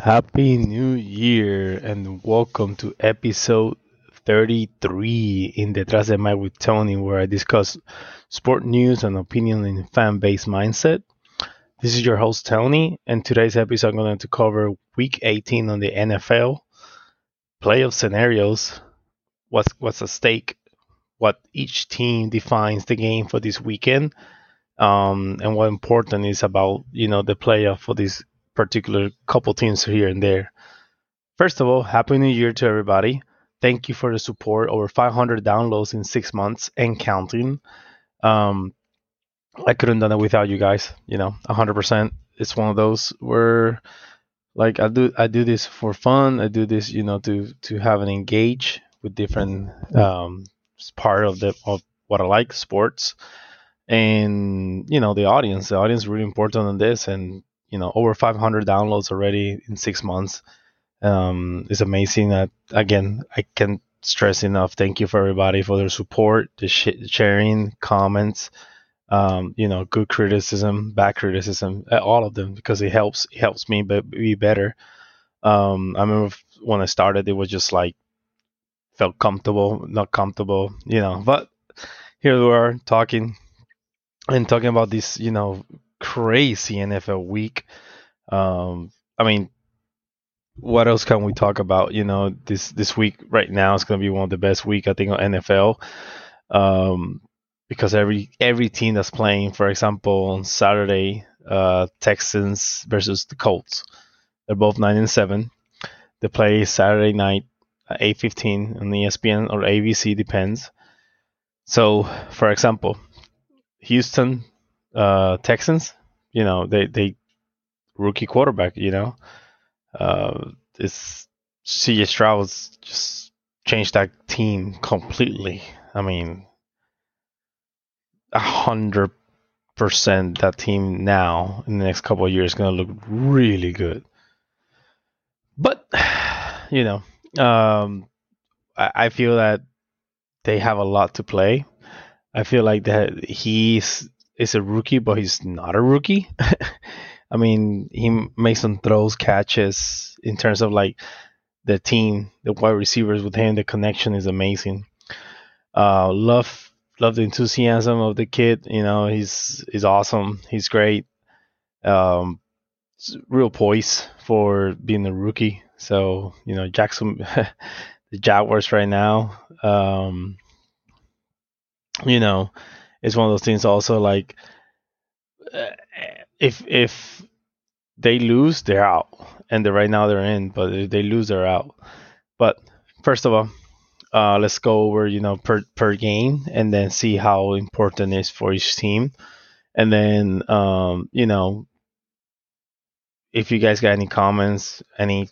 Happy New Year and welcome to episode 33 in Detrás de Mic with Tony, where I discuss sport news and opinion in fan based mindset. This is your host, Tony, and today's episode I'm going to cover week 18 on the NFL, playoff scenarios, what's at stake, what each team defines the game for this weekend, and what important is about the playoff for these particular couple teams here and there. First of all, Happy New Year to everybody. Thank you for the support. Over 500 downloads in 6 months and counting. Um, I couldn't done it without you guys. 100%. It's one of those where like I do this for fun. I do this, to have an engage with different part of what I like, sports, and the audience. The audience is really important in this, and over 500 downloads already in 6 months. It's amazing that again I can stress enough. Thank you for everybody for their support, the sharing, comments, good criticism, bad criticism, all of them because it helps me be better. I remember when I started, it was just like felt comfortable, not comfortable, But here we are talking about this, crazy NFL week. I mean, what else can we talk about? This week right now is going to be one of the best week I think on NFL. Um, because every team that's playing, for example, on Saturday, Texans versus the Colts, they're both 9-7. They play Saturday night at 8:15 on ESPN or ABC, depends. So, for example, Houston Texans, they rookie quarterback, it's CJ Stroud's just changed that team completely. I mean, 100% that team now in the next couple of years is gonna look really good. But you know, I feel that they have a lot to play. I feel like that he's is a rookie, but he's not a rookie. I mean, he makes some throws, catches in terms of like the team, the wide receivers with him, the connection is amazing. Love the enthusiasm of the kid. He's awesome. He's great. Um, Real poise for being a rookie. So Jackson, the Jaguars right now. You know, it's one of those things. Also, like uh, if they lose, they're out, and right now they're in. But if they lose, they're out. But first of all, let's go over per game and then see how important it is for each team, and then if you guys got any comments, any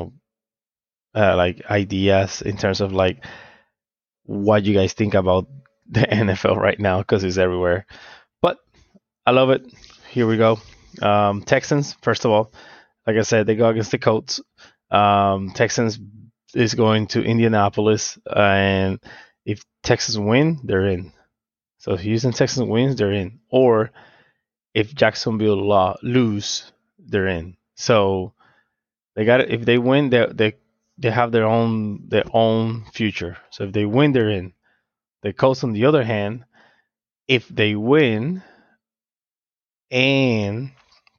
like ideas in terms of like what you guys think about the NFL right now because it's everywhere. But I love it. Here we go. Texans, first of all, like I said, they go against the Colts. Texans is going to Indianapolis, and if Texas win, they're in. So if Houston Texans wins, they're in. Or if Jacksonville lose, they're in. So they got it. If they win, they have their own future. So if they win, they're in. The Colts, on the other hand, if they win and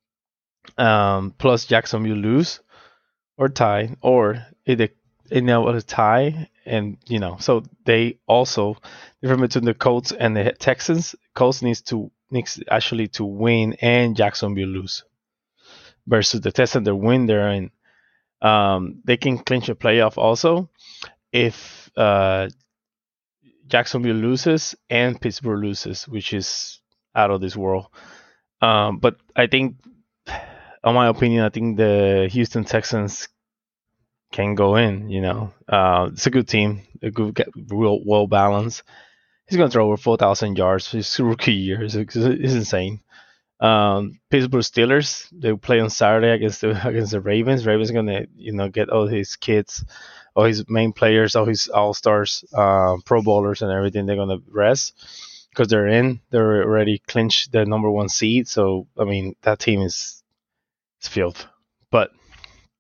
plus Jacksonville lose or tie, or if they a tie, and so they also different between the Colts and the Texans. Colts needs actually to win and Jacksonville lose versus the Texans. They win there and they can clinch a playoff also if Jacksonville loses and Pittsburgh loses, which is out of this world. But I think, in my opinion, I think the Houston Texans can go in. It's a good team, a good, real well balanced. He's going to throw over 4,000 yards his rookie year. It's insane. Pittsburgh Steelers, they play on Saturday against the Ravens. Ravens are gonna get all his kids, all his main players, all his all stars, Pro Bowlers and everything. They're gonna rest because they're in. They're already clinched the number one seed. So I mean that team is filth. But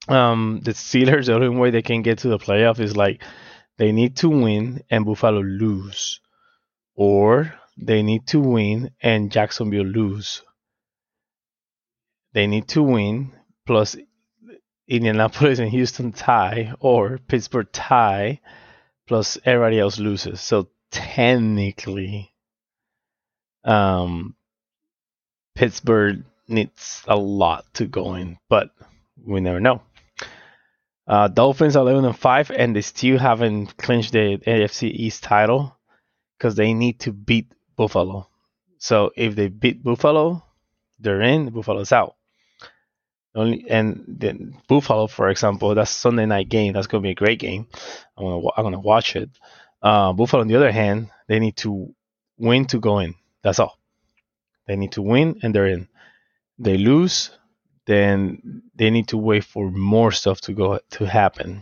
The Steelers, the only way they can get to the playoff is like they need to win and Buffalo lose, or they need to win and Jacksonville lose. They need to win plus Indianapolis and Houston tie, or Pittsburgh tie plus everybody else loses. So technically, um, Pittsburgh needs a lot to go in, but we never know. Dolphins are 11-5, and they still haven't clinched the AFC East title because they need to beat Buffalo. So if they beat Buffalo, they're in. Buffalo's out. And then Buffalo, for example, that's Sunday night game. That's gonna be a great game. I'm gonna watch it. Buffalo, on the other hand, they need to win to go in. That's all. They need to win, and they're in. They lose, then they need to wait for more stuff to happen.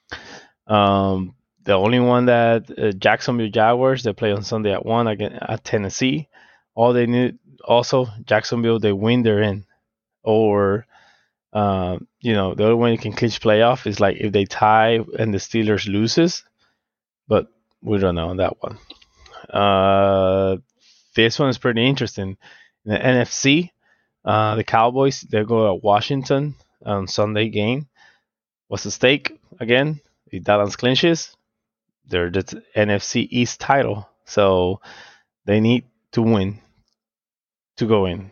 The only one that Jacksonville Jaguars, they play on Sunday at 1 again at Tennessee. All they need also Jacksonville, they win, they're in. Or the only way you can clinch playoff is like if they tie and the Steelers loses, but we don't know on that one. This one is pretty interesting. In the NFC, the Cowboys, they go to Washington on Sunday game. What's the stake again? If Dallas clinches, they're the NFC East title, so they need to win to go in.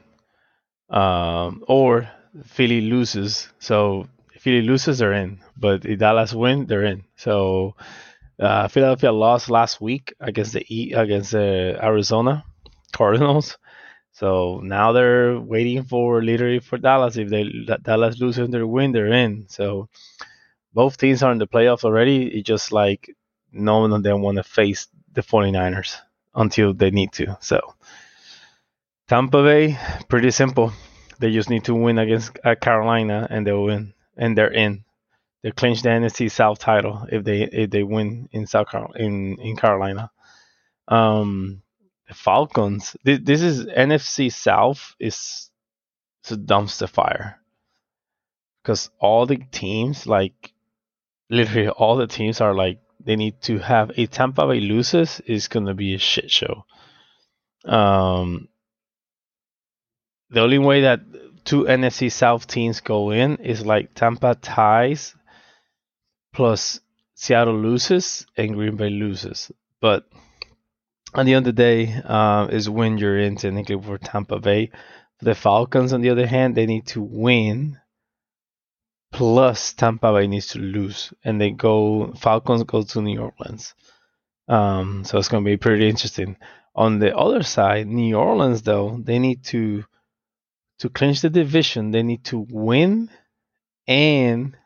Or Philly loses, so if Philly loses, they're in. But if Dallas win, they're in. So Philadelphia lost last week against the Arizona Cardinals. So now they're waiting for literally for Dallas. If Dallas loses, they win, they're in. So both teams are in the playoffs already. It's just like no one of them want to face the 49ers until they need to. So Tampa Bay, pretty simple. They just need to win against Carolina, and they'll win, and they're in. They clinch the NFC South title if they win in in Carolina. The Falcons. This is NFC South is a dumpster fire because all the teams, like literally all the teams, are like they need to have a Tampa Bay loses is gonna be a shit show. The only way that two NFC South teams go in is like Tampa ties plus Seattle loses and Green Bay loses. But at the end of the day, is when you're in technically for Tampa Bay. For the Falcons, on the other hand, they need to win plus Tampa Bay needs to lose, and Falcons go to New Orleans. So it's going to be pretty interesting. On the other side, New Orleans though, they need to clinch the division. They need to win and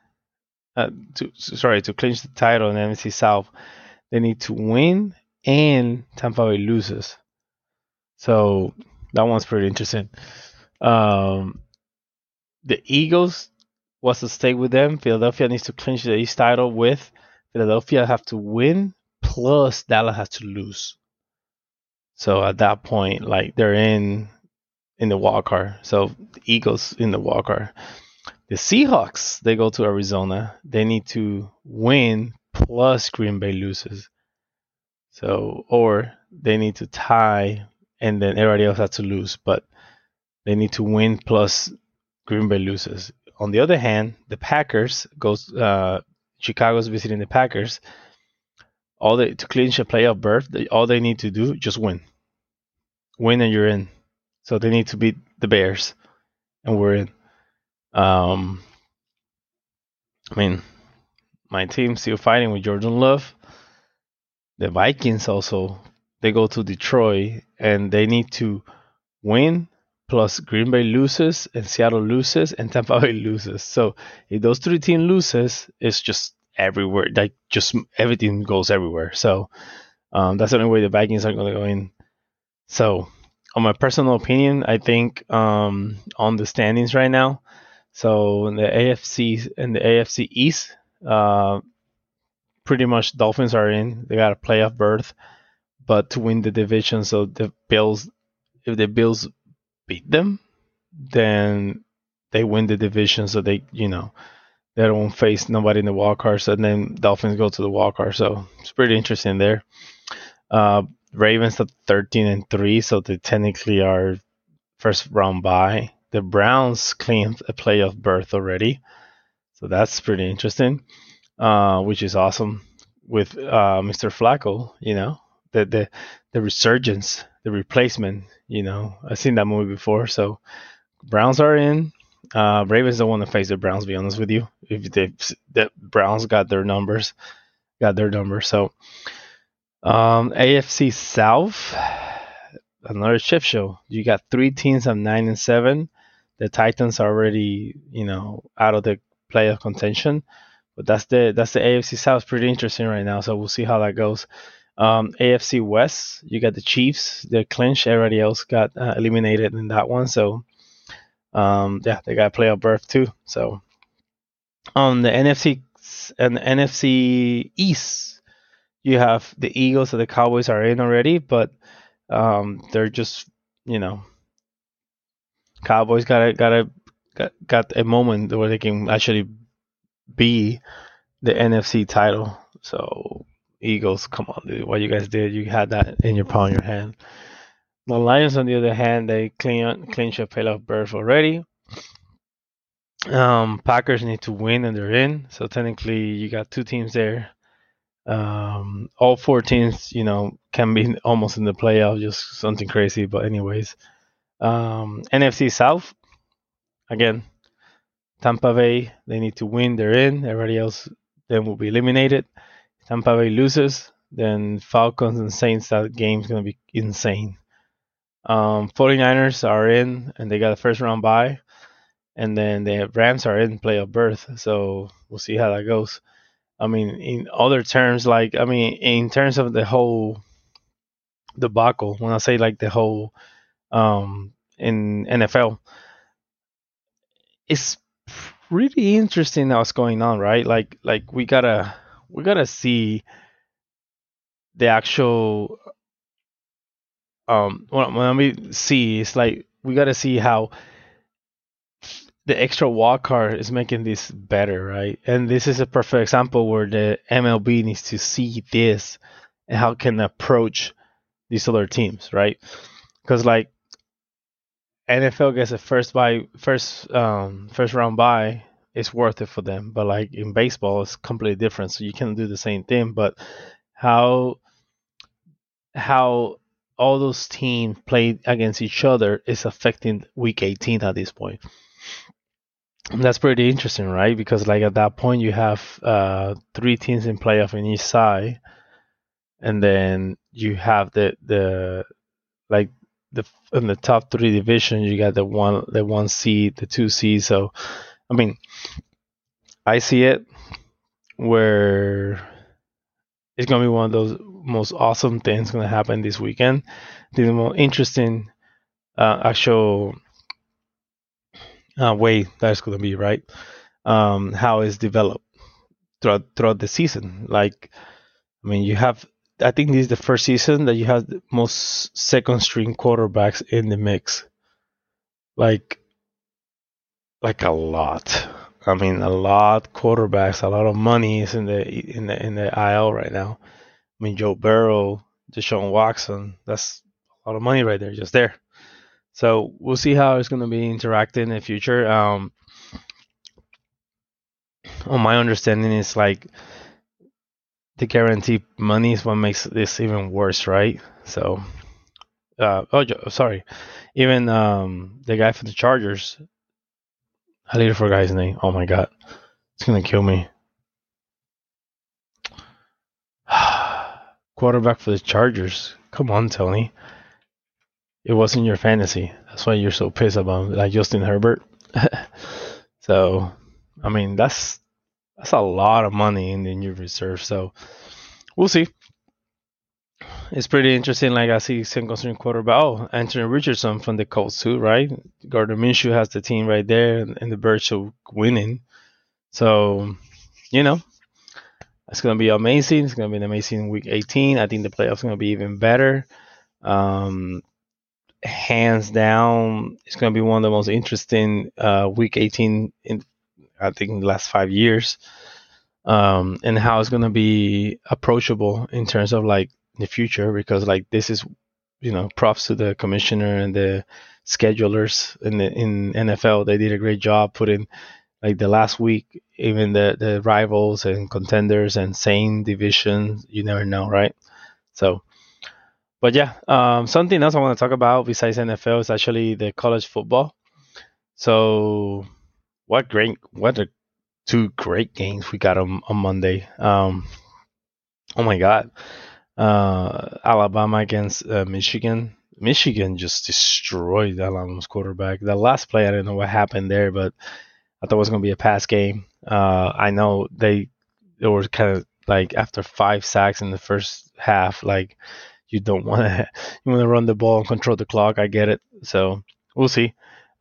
to clinch the title in the NFC South. They need to win and Tampa Bay loses. So that one's pretty interesting. The Eagles, what's the stake with them? Philadelphia needs to clinch the East title with Philadelphia have to win plus Dallas has to lose. So at that point, like they're in the wild card. So the Eagles in the wild card. The Seahawks, they go to Arizona. They need to win plus Green Bay loses. So or they need to tie and then everybody else has to lose, but they need to win plus Green Bay loses. On the other hand, the Packers goes. Chicago's visiting the Packers. To clinch a playoff berth, all they need to do just win. Win and you're in. So they need to beat the Bears, and we're in. I mean, my team's still fighting with Jordan Love. The Vikings also, they go to Detroit and they need to win plus Green Bay loses and Seattle loses and Tampa Bay loses. So if those three teams loses, it's just everywhere. Like just everything goes everywhere. So that's the only way the Vikings are going to go in. So on my personal opinion, I think on the standings right now, so in the AFC East, pretty much Dolphins are in. They got a playoff berth, but to win the division, so the Bills, if the Bills beat them, then they win the division. So They don't face nobody in the wild cards, and then Dolphins go to the wild card. So it's pretty interesting there. Uh, Ravens at 13-3, so they technically are first round bye. The Browns claimed a playoff berth already, so that's pretty interesting, which is awesome with Mr. Flacco. The resurgence, the replacement. I've seen that movie before. So Browns are in. Ravens don't want to face the Browns. To be honest with you, if the Browns got their numbers. So AFC South, another chip show. You got three teams at 9-7. The Titans are already, out of the playoff contention. But that's the AFC South. Pretty interesting right now. So we'll see how that goes. AFC West, you got the Chiefs. They're clinched. Everybody else got eliminated in that one. So they got a playoff berth too. So on the NFC and the NFC East, you have the Eagles and the Cowboys are in already, but they're just Cowboys got a moment where they can actually be the NFC title. So Eagles, come on, dude, what you guys did, you had that in your palm of your hand. The Lions, on the other hand, they clinch a playoff berth already. Packers need to win and they're in. So technically, you got two teams there. All four teams, can be almost in the playoff, just something crazy. But anyways, NFC South, again, Tampa Bay, they need to win, they're in. Everybody else then will be eliminated. Tampa Bay loses, then Falcons and Saints, that game's going to be insane. 49ers are in, and they got a first round bye. And then the Rams are in playoff berth, so we'll see how that goes. I mean, in other terms, in terms of the whole debacle, when I say like the whole in NFL, it's really interesting what's going on, right? Like we gotta see the actual when we see, it's like we gotta see how the extra wild card is making this better, right? And this is a perfect example where the MLB needs to see this and how can approach these other teams, right? Because like NFL gets a first round bye, it's worth it for them. But like in baseball, it's completely different. So you can do the same thing, but how all those teams play against each other is affecting Week 18 at this point. That's pretty interesting, right? Because like at that point you have three teams in playoff in each side, and then you have the in the top three division you got the one seed, the 2 seed. So I mean, I see it where it's gonna be one of those most awesome things gonna happen this weekend. The most interesting actual way that's gonna be, right? How it's developed throughout the season. Like, I mean, I think this is the first season that you have the most second string quarterbacks in the mix. Like a lot. I mean, a lot quarterbacks, a lot of money is in the IL right now. I mean, Joe Burrow, Deshaun Watson, that's a lot of money right there, just there. So we'll see how it's going to be interacting in the future. On my understanding, is like the guaranteed money is what makes this even worse, right? So, sorry, even the guy from the Chargers, I later forgot his name. Oh my god, it's gonna kill me. Quarterback for the Chargers. Come on, Tony. It wasn't your fantasy. That's why you're so pissed about like Justin Herbert. So, I mean, that's a lot of money in your reserve. So, we'll see. It's pretty interesting. Like I see single string quarterback. Oh, Anthony Richardson from the Colts too, right? Gardner Minshew has the team right there, and the Birds are winning. So, it's gonna be amazing. It's gonna be an amazing Week 18. I think the playoffs are gonna be even better. Hands down, it's gonna be one of the most interesting Week 18 in I think the last 5 years, and how it's gonna be approachable in terms of like the future, because like this is, props to the commissioner and the schedulers in NFL. They did a great job putting like the last week, even the rivals and contenders and same division. You never know, right? So, but yeah, something else I want to talk about besides NFL is actually the college football. So, what a two great games we got on Monday. Oh my God, Alabama against Michigan. Michigan just destroyed Alabama's quarterback. The last play, I don't know what happened there, but I thought it was going to be a pass game. I know they were kind of like after 5 sacks in the first half. Like you don't want to you want to run the ball and control the clock. I get it. So we'll see.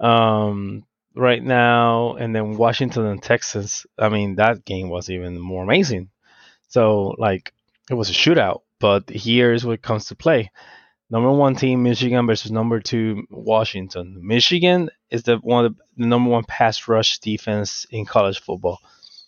Right now, and then Washington and Texas. I mean, that game was even more amazing. So like it was a shootout. But here's what comes to play. Number one team Michigan versus number two Washington. Michigan is the number one pass rush defense in college football.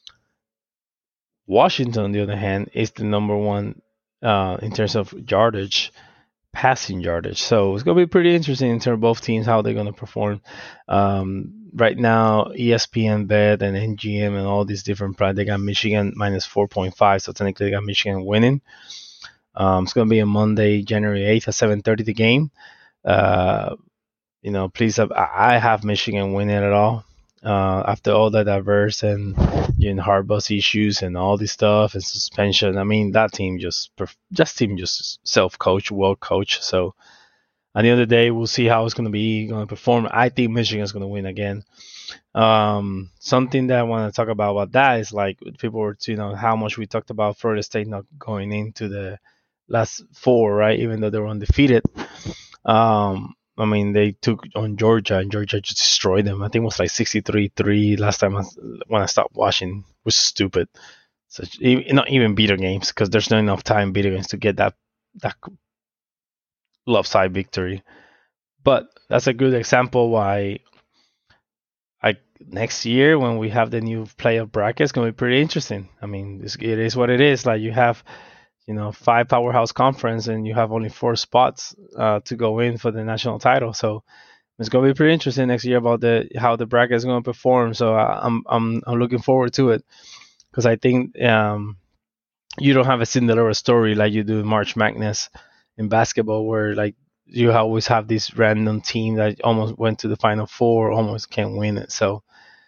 Washington, on the other hand, is the number one in terms of yardage, passing yardage. So it's gonna be pretty interesting in terms of both teams how they're gonna perform. Right now, ESPN Bet and NGM and all these different products, they got Michigan minus 4.5. So technically, they got Michigan winning. It's going to be on Monday, January 8th at 7:30. The game. Uh, please, I have Michigan winning it all. After all that diverse and Harbaugh's issues and all this stuff and suspension, I mean that team just self-coach, well coach. So at the end of the day, we'll see how it's going to perform. I think Michigan's going to win again. Something that I want to talk about that is like people were, how much we talked about Florida State not going into the last four, right? Even though they were undefeated. I mean, they took on Georgia, and Georgia just destroyed them. I think it was like 63-3 last time when I stopped watching. It was stupid. So not even beater games, because there's not enough time beater games to get that lopsided victory. But that's a good example why next year when we have the new playoff bracket, it's going to be pretty interesting. I mean, it is what it is. Like you have, 5 powerhouse conference, and you have only 4 spots to go in for the national title. So it's going to be pretty interesting next year about how the bracket is going to perform. So I'm looking forward to it, because I think you don't have a Cinderella story like you do in March Madness in basketball, where like you always have this random team that almost went to the Final Four, almost can't win it. So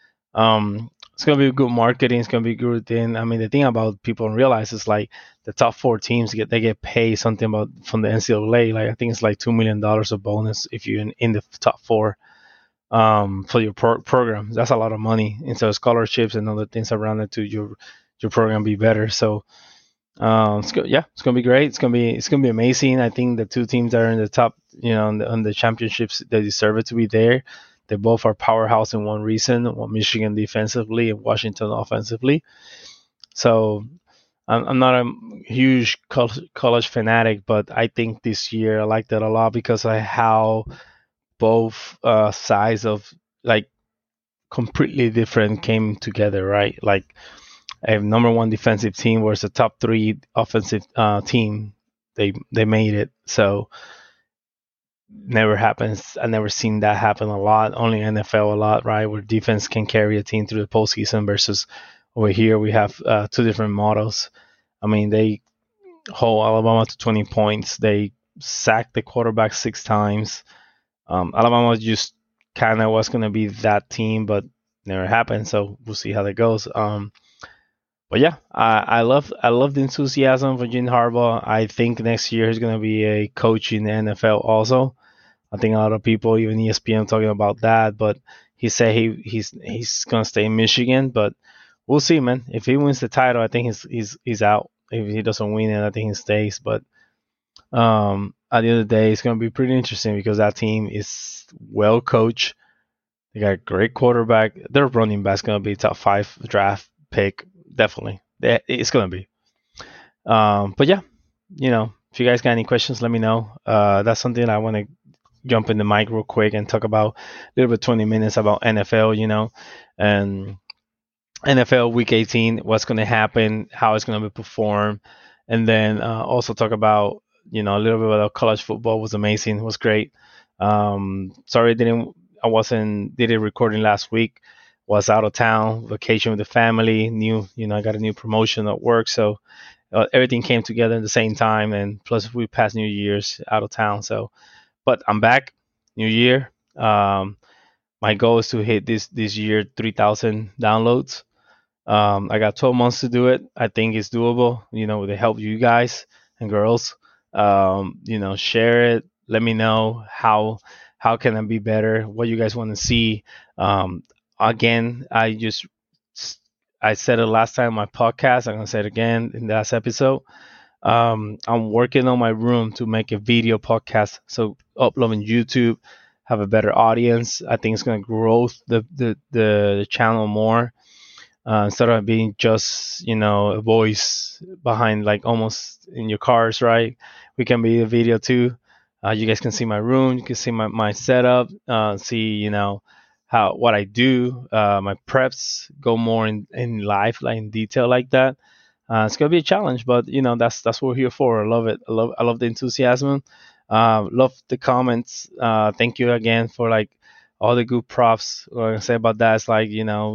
it's gonna be good marketing. It's gonna be good thing. I mean, the thing about people don't realize is like the top 4 teams get paid something about from the NCAA. Like I think it's like $2 million of bonus if you're in the top 4 for your program. That's a lot of money. And so scholarships and other things around it to your program be better. So it's gonna be great. It's gonna be amazing. I think the 2 teams that are in the top, on the championships, they deserve it to be there. They both are powerhouse in one reason: Michigan defensively and Washington offensively. So I'm not a huge college fanatic, but I think this year I like that a lot because of how both sides of like completely different came together, right? Like a number one defensive team versus a top 3 offensive team. They made it. So never happens. I never seen that happen a lot. Only NFL a lot, right? Where defense can carry a team through the postseason versus over here we have 2 different models. I mean, they hold Alabama to 20 points. They sacked the quarterback 6 times. Alabama just kind of was going to be that team, but never happened. So we'll see how that goes. But yeah, I love the enthusiasm for Jim Harbaugh. I think next year he's going to be a coach in the NFL also. I think a lot of people, even ESPN, talking about that. But he said he's going to stay in Michigan. But we'll see, man. If he wins the title, I think he's out. If he doesn't win it, I think he stays. But at the end of the day, it's going to be pretty interesting because that team is well coached. They got a great quarterback. Their running back's going to be top 5 draft pick. Definitely. It's going to be. But yeah, if you guys got any questions, let me know. That's something I want to jump in the mic real quick and talk about a little bit 20 minutes about NFL, and NFL Week 18, what's going to happen, how it's going to be performed, and then also talk about a little bit about college football. Was amazing, it was great. Sorry, I wasn't did a recording last week. Was out of town, vacation with the family. I got a new promotion at work, so everything came together at the same time. And plus, we passed New Year's out of town. So, but I'm back, New Year. My goal is to hit this year 3,000 downloads. I got 12 months to do it. I think it's doable. With the help of you guys and girls. Share it. Let me know how can I be better. What you guys want to see. Um, Again, I said it last time on my podcast. I'm gonna say it again in the last episode. I'm working on my room to make a video podcast. So upload on YouTube, have a better audience. I think it's gonna grow the channel more instead of being just a voice behind, like almost in your cars, right? We can be a video too. You guys can see my room, you can see my setup, see how what I do, my preps, go more in life, like in detail like that. It's gonna be a challenge, but that's what we're here for. I love it. I love the enthusiasm. Love the comments. Thank you again for like all the good props. What I can say about that is like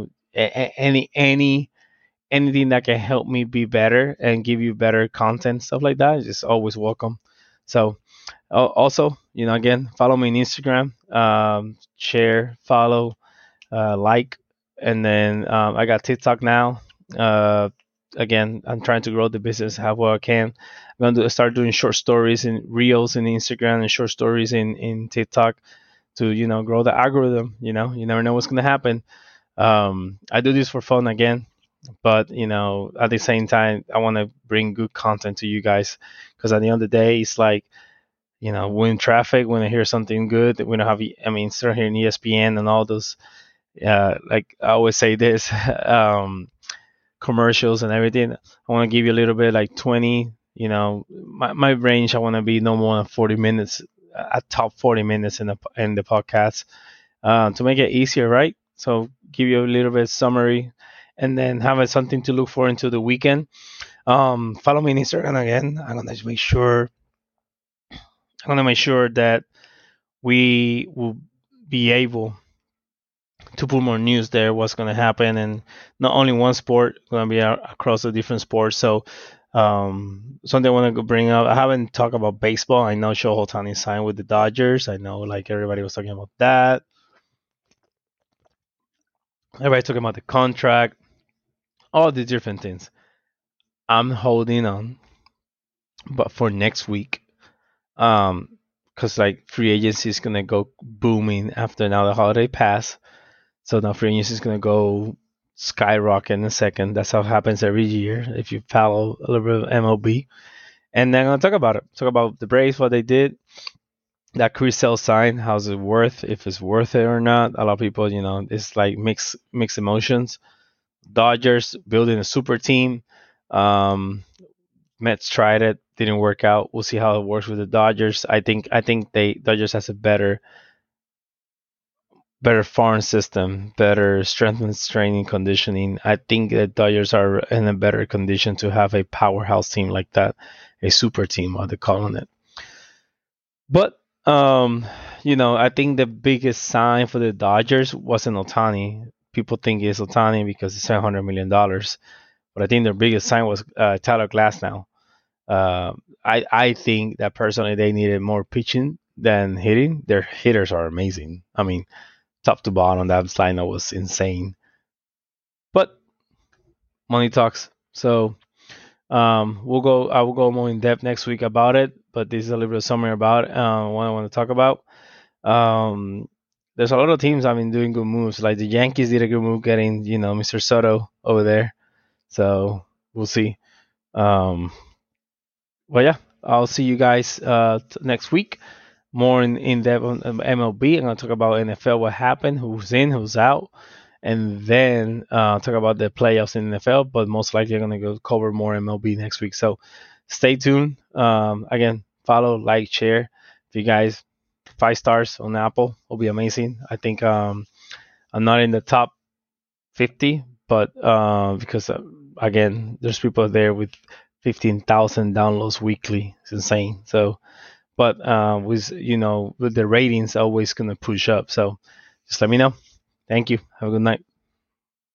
anything that can help me be better and give you better content, stuff like that, is just always welcome. So also, again, follow me on Instagram, share, follow, like, and then I got TikTok now. Uh, Again, I'm trying to grow the business however I can. I'm going to start doing short stories and reels in Instagram and short stories in TikTok to grow the algorithm. You never know what's going to happen. I do this for fun again, but at the same time, I want to bring good content to you guys, because at the end of the day, it's like we're in traffic when I hear something good. We don't have, I mean, start hearing ESPN and all those. Like I always say this, commercials and everything. I want to give you a little bit like 20. My range. I want to be no more than 40 minutes, a top 40 minutes in the podcast, to make it easier, right? So give you a little bit summary, and then have something to look for into the weekend. Follow me on Instagram again. I'm gonna make sure that we will be able to put more news there. What's gonna happen, and not only one sport, gonna be across the different sports. So something I want to bring up. I haven't talked about baseball. I know Shohei Ohtani signed with the Dodgers. I know like everybody was talking about that. Everybody talking about the contract, all the different things. I'm holding on, but for next week, because like free agency is gonna go booming after now the holiday pass. So now free agency is gonna go skyrocket in a second. That's how it happens every year if you follow a little bit of MLB. And then I'm gonna talk about it. Talk about the Braves, what they did. That Chris Sale sign, how's it worth? If it's worth it or not. A lot of people, it's like mixed emotions. Dodgers building a super team. Um, Mets tried it, didn't work out. We'll see how it works with the Dodgers. I think they Dodgers has a better farm system, better strength and training conditioning. I think the Dodgers are in a better condition to have a powerhouse team like that, a super team, what they're calling it. But I think the biggest sign for the Dodgers wasn't Otani. People think it's Otani because it's $700 million, but I think their biggest sign was Tyler Glasnow. Uh, I think that personally they needed more pitching than hitting. Their hitters are amazing. I mean, top to bottom, that lineup was insane. But money talks. So we'll go. I will go more in depth next week about it. But this is a little bit of summary about what I want to talk about. Um, there's a lot of teams. I mean, doing good moves. Like the Yankees did a good move getting Mr. Soto over there. So we'll see. Um, but yeah, I'll see you guys next week. More in depth on MLB. I'm gonna talk about NFL, what happened, who's in, who's out, and then talk about the playoffs in NFL. But most likely, I'm gonna go cover more MLB next week. So stay tuned. Again, follow, like, share. If you guys 5 stars on Apple will be amazing. I think I'm not in the top 50, but because again, there's people there with 15,000 downloads weekly. It's insane. So, but with with the ratings always gonna push up. So, just let me know. Thank you. Have a good night.